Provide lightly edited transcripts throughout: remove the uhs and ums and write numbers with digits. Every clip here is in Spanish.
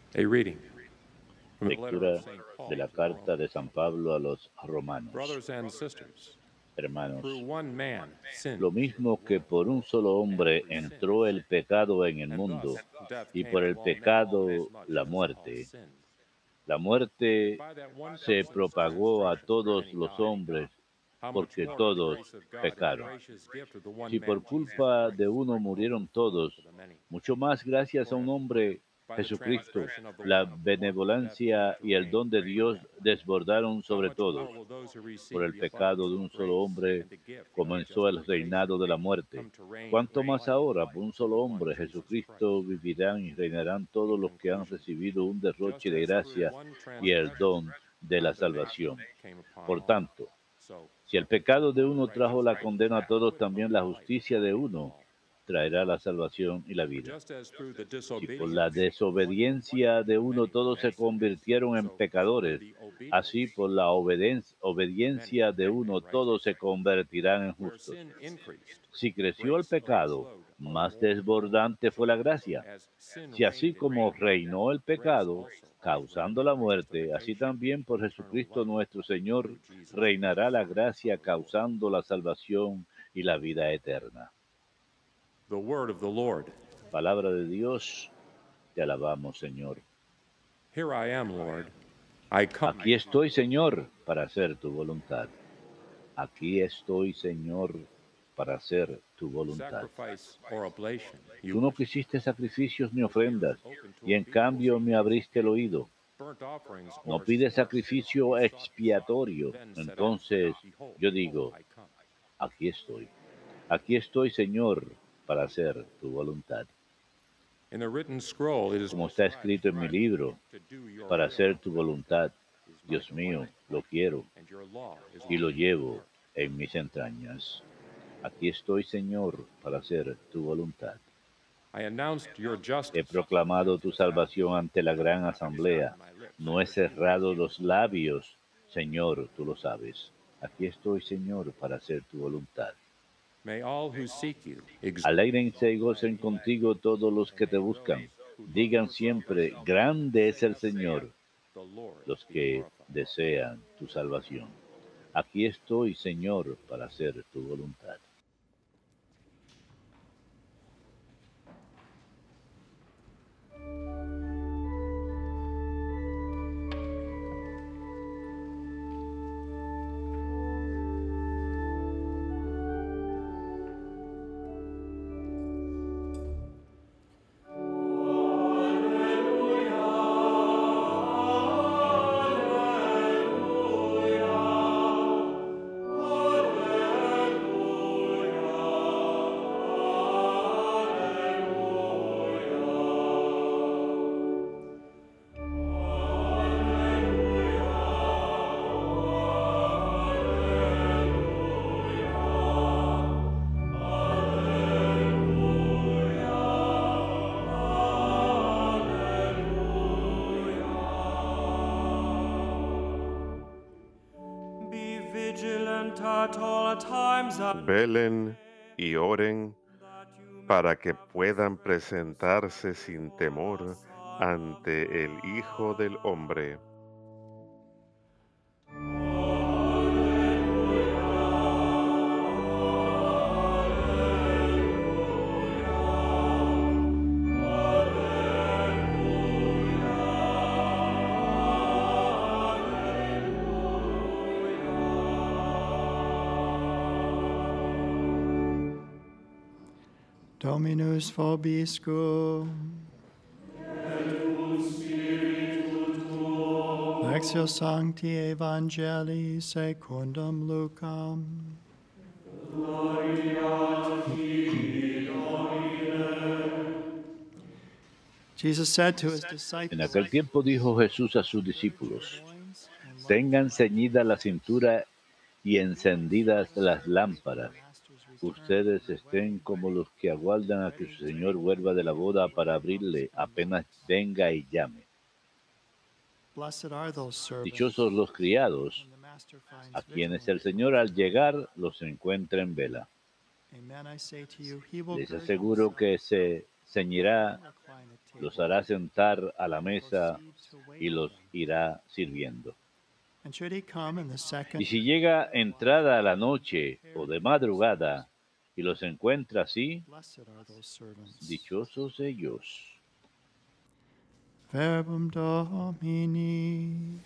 A reading from the letter of Lectura St. de Paul la to the carta de Romans. San Pablo a los romanos. Brothers and sisters, through Hermanos, one man sin lo entered the mismo que world, por un solo and hombre through sin entró el pecado en el and mundo, thus death y came por to el all men pecado inasmuch la as all muerte, sinned. la And muerte by that one se person's propagó a transgression todos many los died. hombres, How much porque more will the todos grace of God and the pecaron. gracious gift of the one Si por man Jesus culpa de Christ uno spread murieron overflow todos, to the many? mucho más gracias a For un if hombre, by the Jesucristo, transgression of the la one death came benevolencia through y el don de many Dios men, desbordaron how sobre much todos. more will those who Por receive el the pecado abundance de of un solo grace hombre and the gift of comenzó el justification reinado de la muerte. come to reign Cuanto in más life ahora, por un through solo the one hombre, Jesus Jesucristo, Christ? vivirán y reinarán In todos los que han conclusion, recibido un derroche just de as through gracia one y el transgression don de la condemnation salvación. came upon Por all, tanto, so si el pecado de by the uno trajo righteous la gift condena a of todos, también la eternal life justicia de reigned to uno all. traerá la salvación y la For vida. just as through the Si por la disobedience of one desobediencia de uno many todos se men sinned, convirtieron en so through pecadores, the así obedience por la of many obediencia de we may be uno todos se righteous. convertirán en Where justos. sin increased, Si creció el grace pecado, overflowed all the más more. desbordante fue So la also gracia. as sin Si así reigned in como many, reinó el grace pecado, also might reign causando la for muerte, así justification también por of eternal Jesucristo life nuestro Señor through Jesus reinará Christ la gracia our Lord. causando la salvación y la vida eterna. The word of the Lord. Palabra de Dios, te alabamos, Señor. Here I am, Lord. I come. Aquí estoy, Señor, para hacer tu voluntad. Aquí estoy, Señor, para hacer tu voluntad. Sacrifice or oblation, Tú you no quisiste sacrificios ni whose ear is ofrendas, open to y en obedience. cambio me abriste el oído. Burnt offerings No or pides sacrifice sacrificio you sought not. expiatorio. Then said I, Entonces behold, yo digo, I come. aquí estoy. Aquí estoy, Señor, para hacer tu voluntad. In the written scroll it is Como está prescribed escrito en mi libro, to do your para will. hacer tu voluntad. Is my Dios delight, mío, lo quiero and your law is y lo within my llevo heart. en mis entrañas. Aquí estoy, Señor, para hacer tu voluntad. I announced your He justice proclamado tu salvación ante la gran not asamblea. restraining my lips, No he for you cerrado los labios, Señor, tú lo sabes. Aquí estoy, Señor, para hacer tu voluntad. may all who seek you exalt, Alégrense y gocen contigo todos los and que te may those buscan. who love Digan your siempre, salvation grande es say, el Señor, the Lord los be que glorified. desean tu salvación. Aquí estoy, Señor, para hacer tu voluntad. Velen y oren para que puedan presentarse sin temor ante el Hijo del Hombre. Dominus vobiscum. Lectio Sancti Evangelii secundum Lucam. Jesus said to his En disciples, aquel tiempo dijo Jesús a sus discípulos, tengan ceñida la cintura y encendidas las lámparas. Ustedes estén como los que aguardan a que su Señor vuelva de la boda para abrirle apenas venga y llame. Blessed are those servants Dichosos los criados, whom the master a finds quienes vigilant. el Señor al llegar los encuentra en vela. Amen, I say to you, he will Les gird aseguro himself que se ceñirá and recline at los hará sentar a la mesa y los irá sirviendo. And should he come in the second Y si llega entrada a la noche o de madrugada y los encuentra así, blessed are those servants. dichosos ellos. Verbum Domini.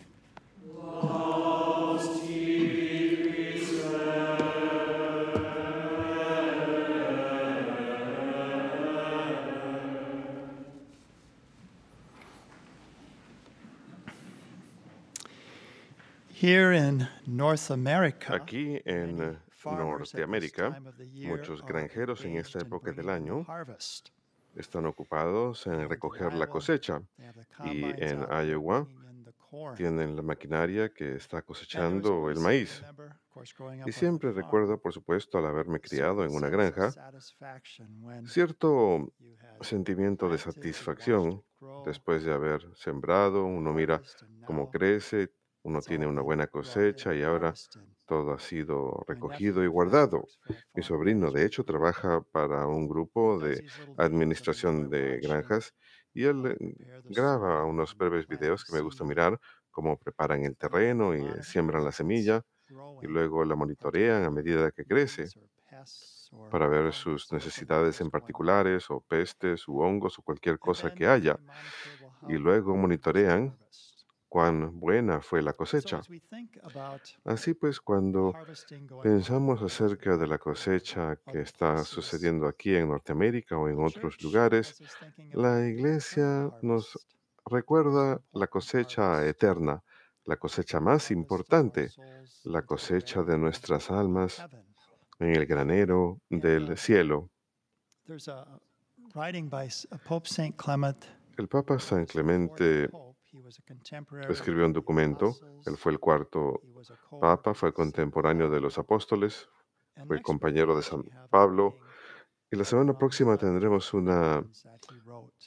Here in North America, Aquí en many farmers at this Norteamérica, time of the year muchos are granjeros en esta engaged in época del bringing in año harvest. están ocupados en In recoger la Iowa, cosecha, they have the y combines en out there Iowa bringing in the corn. tienen la maquinaria que está And there was cosechando el always, I maíz. remember, of course, growing Y up on a siempre farm, recuerdo, por supuesto, al haberme a criado certain en una sense of granja, satisfaction when cierto you had sentimiento de planted, you watched satisfacción it grow, después de haber sembrado. Uno mira harvest, and cómo now crece, uno it's tiene all una been buena brought in cosecha and y ahora harvested. todo ha sido My nephew, recogido y in fact, guardado. works for a Mi farm sobrino, de hecho, management group trabaja para un that grupo does de these little videos that I administración enjoy de watching, granjas y él how they prepare the graba soil unos and breves plant the videos que me gusta seed. mirar, cómo preparan el And then terreno they y monitor siembran la as it's semilla y growing luego la for monitorean a particular medida que crece weeds or pests or para ver fungus sus or something necesidades that's en going on. particulares o pestes u hongos o cualquier And cosa then que haya. they monitor, well, Y how luego good was the monitorean harvest? cuán buena fue la So cosecha. as we think about Así pues, the cuando harvesting going on pensamos in acerca de la North America cosecha or que other está places, sucediendo aquí en Norteamérica o en the otros church lugares, has us thinking about la the eternal iglesia nos harvest, the most recuerda la important cosecha harvest, eterna, la cosecha the más harvest of our importante, souls la into the cosecha de granary nuestras of almas heaven. en el granero And del cielo. there's a writing by Pope Saint Clement. El Papa He San was the fourth Clemente pope. He was a contemporary of escribió un the documento. Él apostles. fue el cuarto He was a co-worker Papa, fue with Saint contemporáneo de Paul. los apóstoles, And fue next week compañero we de actually San have a Pablo. reading Y la semana from the próxima letter to the tendremos una Corinthians that he wrote.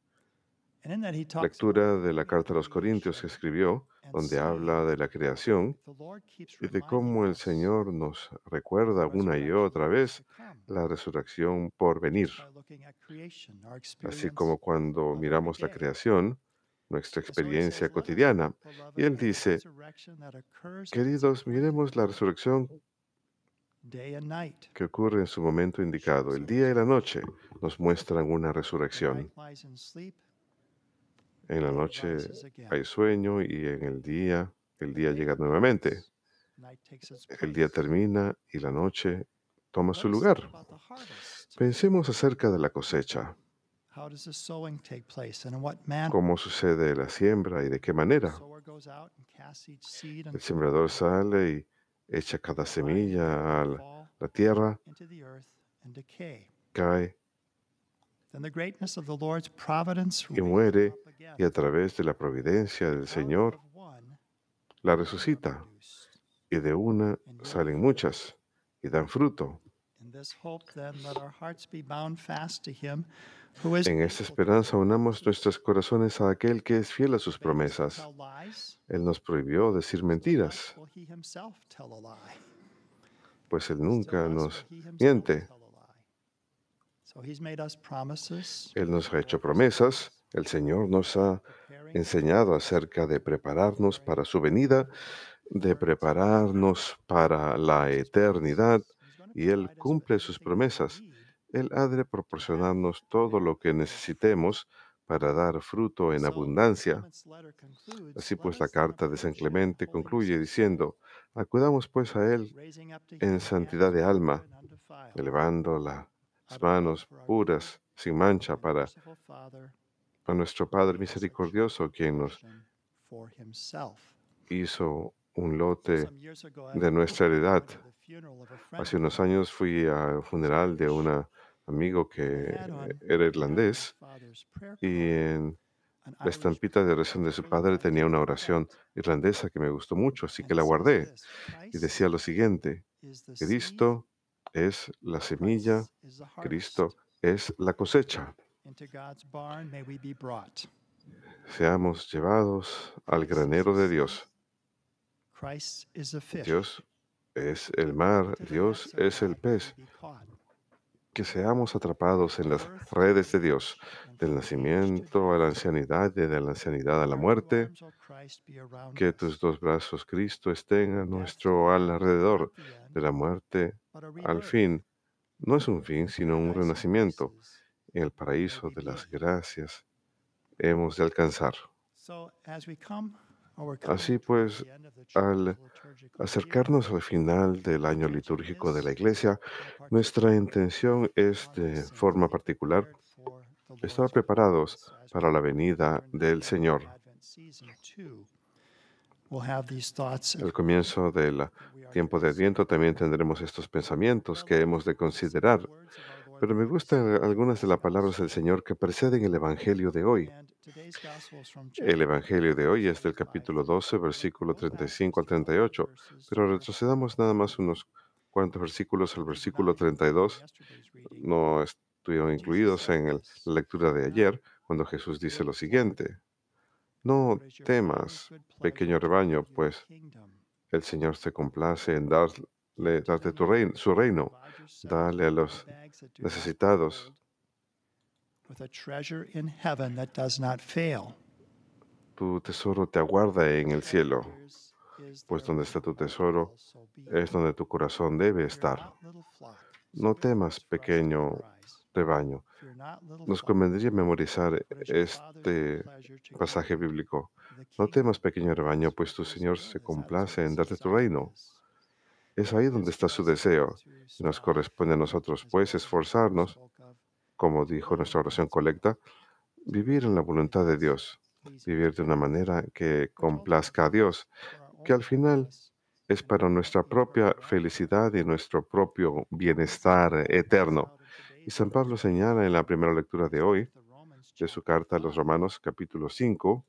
And in that he talks about lectura the de la beauty of carta a los Corintios que creation escribió, and donde saying, habla de la creación the Lord keeps y de reminding cómo el us Señor nos of recuerda the una y resurrection otra that is to vez come. la resurrección por venir. Just by looking at creation, our Así experience como cuando of miramos every la day. creación, nuestra And so he experiencia says, let us cotidiana. look, beloved, Y él at the dice, resurrection that occurs at its queridos, appointed miremos la time, resurrección day and night. que ocurre en su momento indicado. El día y la noche nos muestran una The night resurrección. lies in sleep, En la day noche rises again. hay sueño y en el día Day llega nuevamente. ends, night takes its El día place. termina y la noche toma Let su us think lugar. about the harvest. Pensemos acerca de la cosecha, How does the sowing take place and in what manner? cómo sucede la siembra y de qué The manera. sower goes out and casts each seed El until sembrador sale y echa cada semilla a fall la tierra, into the earth and decay. cae Then the greatness of the Lord's providence y raises muere, them up again. y a través de la providencia del Out Señor of one, la many are resucita, produced. y de una And yield salen fruit. muchas y dan fruto. In this hope, then, let our hearts be bound fast to Him who is En esta faithful to esperanza His unamos promises. nuestros corazones a aquel que es fiel a sus He bade us to promesas. tell lies, Él nos prohibió decir still less mentiras, will He Himself tell a lie. pues Él Still nunca less nos will He Himself miente. tell a lie. So He's made us promises. Él nos The ha hecho Lord has promesas. El Señor nos ha preparing enseñado acerca de prepararnos para su venida, de prepararnos para la eternidad, y Él cumple sus promesas. Él ha de proporcionarnos todo lo que necesitemos para dar fruto en abundancia. Así pues, la carta de San Clemente concluye diciendo, acudamos pues a Él en santidad de alma, elevando las manos puras, sin mancha, para a nuestro Padre misericordioso, quien nos hizo un lote de nuestra heredad. Hace unos años fui al funeral de un amigo que era irlandés y en la estampita de oración de su padre tenía una oración irlandesa que me gustó mucho, así que la guardé. Y decía lo siguiente, Cristo es la semilla, Cristo es la cosecha. Seamos llevados al granero de Dios. Dios es el mar, Dios es el pez. que seamos atrapados en las redes de Dios, del nacimiento a la ancianidad y de la ancianidad a la muerte, que tus dos brazos, Cristo, estén a nuestro alrededor, de la muerte al fin. No es un fin, sino un renacimiento en el paraíso de las gracias hemos de alcanzar. Así pues, al acercarnos al final del año litúrgico de la Iglesia, nuestra intención es, de forma particular, estar preparados para la venida del Señor. Al comienzo del tiempo de Adviento también tendremos estos pensamientos que hemos de considerar, pero me gustan algunas de las palabras del Señor que preceden el Evangelio de hoy. El Evangelio de hoy es del capítulo 12, versículo 35 al 38, pero retrocedamos nada más unos cuantos versículos al versículo 32. No estuvieron incluidos en la lectura de ayer, cuando Jesús dice lo siguiente: No temas, pequeño rebaño, pues el Señor se complace en darte su reino. Dale a los necesitados. Tu tesoro te aguarda en el cielo, pues donde está tu tesoro es donde tu corazón debe estar. No temas, pequeño rebaño. Nos convendría memorizar este pasaje bíblico. No temas, pequeño rebaño, pues tu Señor se complace en darte tu reino. Es ahí donde está su deseo, y nos corresponde a nosotros, pues, esforzarnos, como dijo nuestra oración colecta, vivir en la voluntad de Dios, vivir de una manera que complazca a Dios, que al final es para nuestra propia felicidad y nuestro propio bienestar eterno. Y San Pablo señala en la primera lectura de hoy, de su carta a los Romanos, capítulo 5,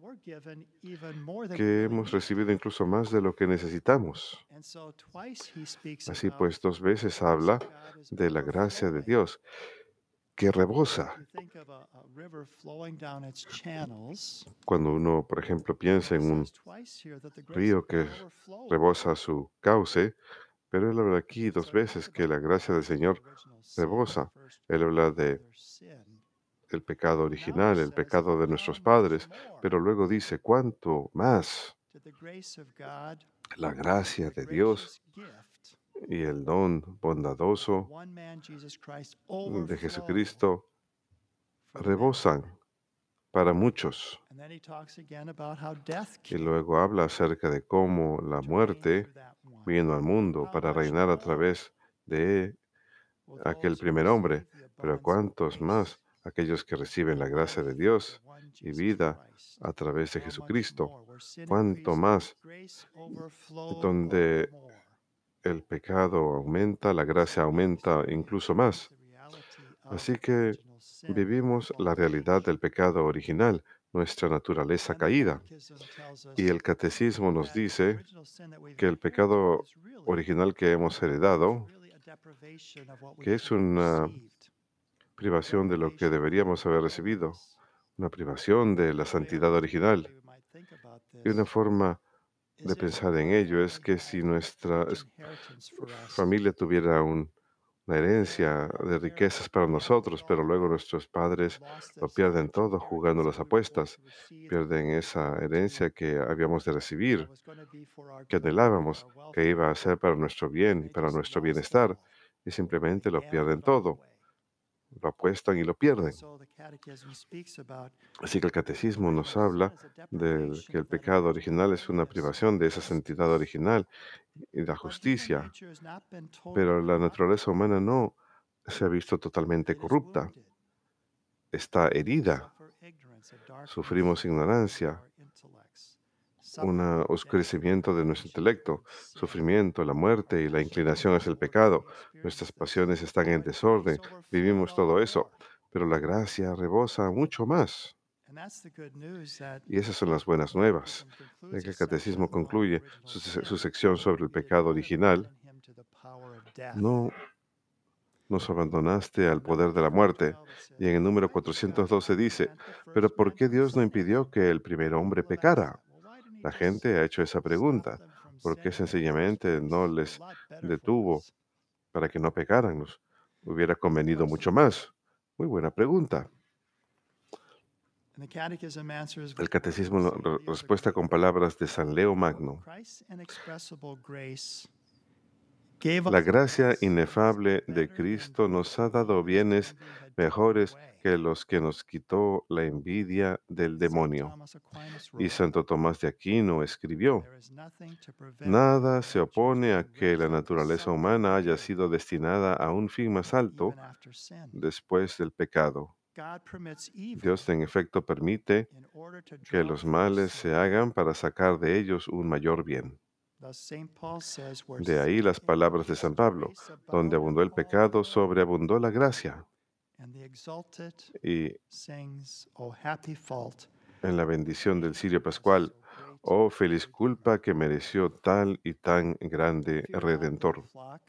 que hemos recibido incluso más de lo que necesitamos. Así pues, dos veces habla de la gracia de Dios, que rebosa. Cuando uno, por ejemplo, piensa en un río que rebosa su cauce, pero él habla aquí dos veces que la gracia del Señor rebosa. Él habla de el pecado original, el pecado de nuestros padres, pero luego dice, ¿cuánto más la gracia de Dios y el don bondadoso de Jesucristo rebosan para muchos? Y luego habla acerca de cómo la muerte vino al mundo para reinar a través de aquel primer hombre, pero cuántos más aquellos que reciben la gracia de Dios y vida a través de Jesucristo, cuánto más donde el pecado aumenta, la gracia aumenta incluso más. Así que vivimos la realidad del pecado original, nuestra naturaleza caída. Y el catecismo nos dice que el pecado original que hemos heredado, que es una privación de lo que deberíamos haber recibido, una privación de la santidad original. Y una forma de pensar en ello es que si nuestra familia tuviera una herencia de riquezas para nosotros, pero luego nuestros padres lo pierden todo jugando las apuestas, pierden esa herencia que habíamos de recibir, que anhelábamos, que iba a ser para nuestro bien y para nuestro bienestar, y simplemente lo pierden todo, lo apuestan y lo pierden. Así que el catecismo nos habla de que el pecado original es una privación de esa santidad original y la justicia, pero la naturaleza humana no se ha visto totalmente corrupta, está herida, sufrimos ignorancia, un oscurecimiento de nuestro intelecto, sufrimiento, la muerte y la inclinación hacia el pecado. Nuestras pasiones están en desorden, vivimos todo eso, pero la gracia rebosa mucho más. Y esas son las buenas nuevas, de que el catecismo concluye su sección sobre el pecado original. No nos abandonaste al poder de la muerte. Y en el número 412 dice, pero ¿por qué Dios no impidió que el primer hombre pecara? La gente ha hecho esa pregunta. ¿Por qué sencillamente no les detuvo para que no pecaran? hubiera convenido mucho más? Muy buena pregunta. And the Catechism answers El with catecismo words of St. Leo the respuesta con Great. palabras de San Leo Magno. Christ's inexpressible grace gave La us gracia blessings inefable de better than Cristo those nos ha that dado God's bienes envy had taken mejores away. que los que nos quitó la envidia del St. demonio. Thomas Aquinas Y wrote, Santo Tomás de Aquino escribió: "There is nothing to prevent nada se the natures opone a being que la raised up to naturaleza something humana haya greater sido destinada a un fin más alto even after sin. después del pecado. God permits evil Dios en efecto permite in order to que draw los from males sin. se hagan para sacar de ellos un mayor bien. Thus St. Paul says, where De ahí sin las palabras de San increased, Pablo: grace donde abounded abundó el all pecado, the more. sobreabundó la gracia. And the exalted Y sings, "O happy fault, en la bendición del Sirio was Pascual: so great oh a feliz redeemer." culpa que mereció tal y tan grande Fear not, little Redentor. flock,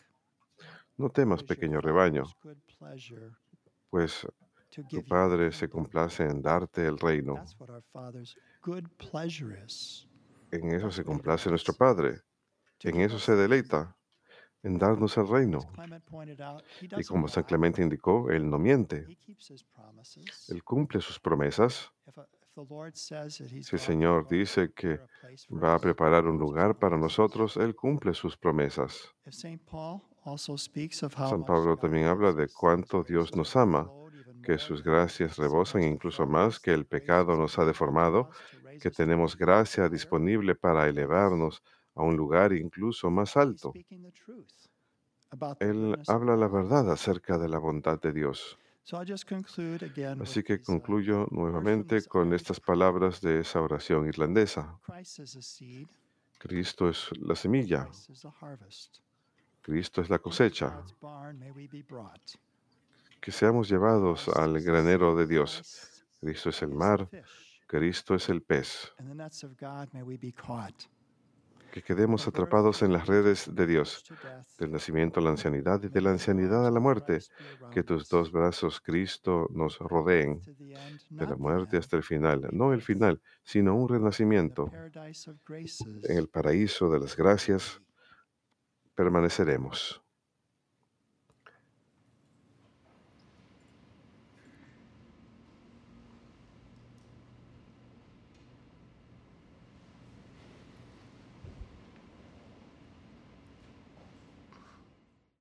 No for temas, it is your pequeño Father's rebaño, good pleasure pues to tu give you the Padre se kingdom. complace en darte el reino. That's what our Father's good pleasure is. En eso That's se what he complace nuestro delights, Padre, to en give eso us se the kingdom. deleita, en darnos el As reino. Clement pointed out, he Y doesn't como San lie. Clemente indicó, Él no miente, He keeps his promises. Él cumple sus promesas. If the Lord says that he's Si el going Señor to dice que prepare a place for va a us, he preparar un keeps his lugar para promises. nosotros, Él cumple sus promesas. If St. Paul also speaks of how San much Pablo God también habla loves de us, cuánto his Dios grace nos has ama, overflowed even que more sus than gracias sin rebosan has incluso deformed más us, que that el grace pecado is nos ha available to deformado, us to raise que us to an tenemos even gracia higher disponible para place. elevarnos a un lugar incluso más He's alto. speaking the truth about the Él goodness of habla la God. verdad acerca de la bondad de Dios. So I'll just conclude again with Así que these concluyo words from nuevamente this con Irish estas prayer. palabras de esa oración irlandesa. Christ is a seed, Cristo es la semilla, Christ is the harvest. Cristo es la Into cosecha. God's barn may we be brought. Que seamos llevados Christ al is the granero de sea, Dios. Christ Cristo es el is the mar, fish. Cristo es el pez. In the nets of God may we be caught. Que quedemos From birth atrapados to en las age, redes from de age Dios, to death, del nacimiento a la ancianidad y de may la your ancianidad arms a la of muerte. Christ be Que around tus us. dos brazos, Cristo, nos From death rodeen, to the end, de la not the muerte end, hasta el but a final. No el rebirth final, sino un in the renacimiento. paradise of En graces. el paraíso de las gracias permaneceremos.